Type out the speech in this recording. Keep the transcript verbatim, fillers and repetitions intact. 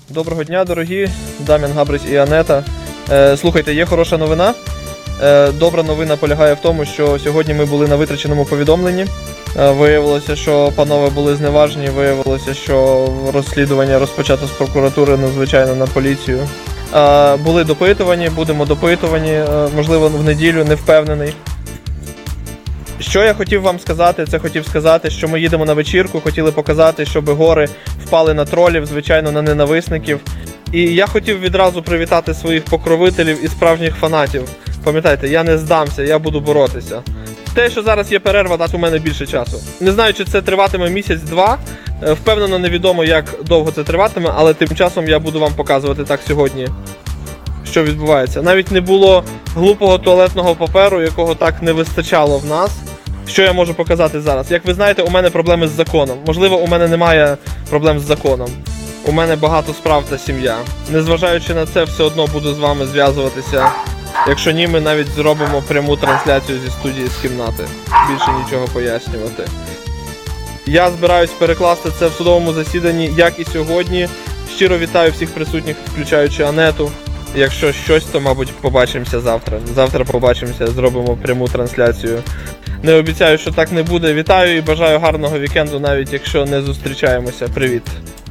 Доброго дня, дорогі, Дам'ян Габрич і Анета. Слухайте, є хороша новина. Добра новина полягає в тому, що сьогодні ми були на витраченому повідомленні. Виявилося, що панове були зневажені, виявилося, що розслідування розпочато з прокуратури, надзвичайно на поліцію. Були допитувані, будемо допитувані, можливо, в неділю, не впевнений. Що я хотів вам сказати, це хотів сказати, що ми їдемо на вечірку, хотіли показати, щоб гори впали на тролів, звичайно, на ненависників. І я хотів відразу привітати своїх покровителів і справжніх фанатів. Пам'ятайте, я не здамся, я буду боротися. Те, що зараз є перерва, дасть у мене більше часу. Не знаю, чи це триватиме місяць-два, впевнено, невідомо, як довго це триватиме, але тим часом я буду вам показувати так сьогодні, що відбувається. Навіть не було глупого туалетного паперу, якого так не вистачало в нас. Що я можу показати зараз? Як ви знаєте, у мене проблеми з законом. Можливо, у мене немає проблем з законом. У мене багато справ та сім'я. Незважаючи на це, все одно буду з вами зв'язуватися. Якщо ні, ми навіть зробимо пряму трансляцію зі студії з кімнати. Більше нічого пояснювати. Я збираюсь перекласти це в судовому засіданні, як і сьогодні. Щиро вітаю всіх присутніх, включаючи Анету. Якщо щось, то, мабуть, побачимося завтра. Завтра побачимося, зробимо пряму трансляцію. Не обіцяю, що так не буде. Вітаю і бажаю гарного вікенду, навіть якщо не зустрічаємося. Привіт!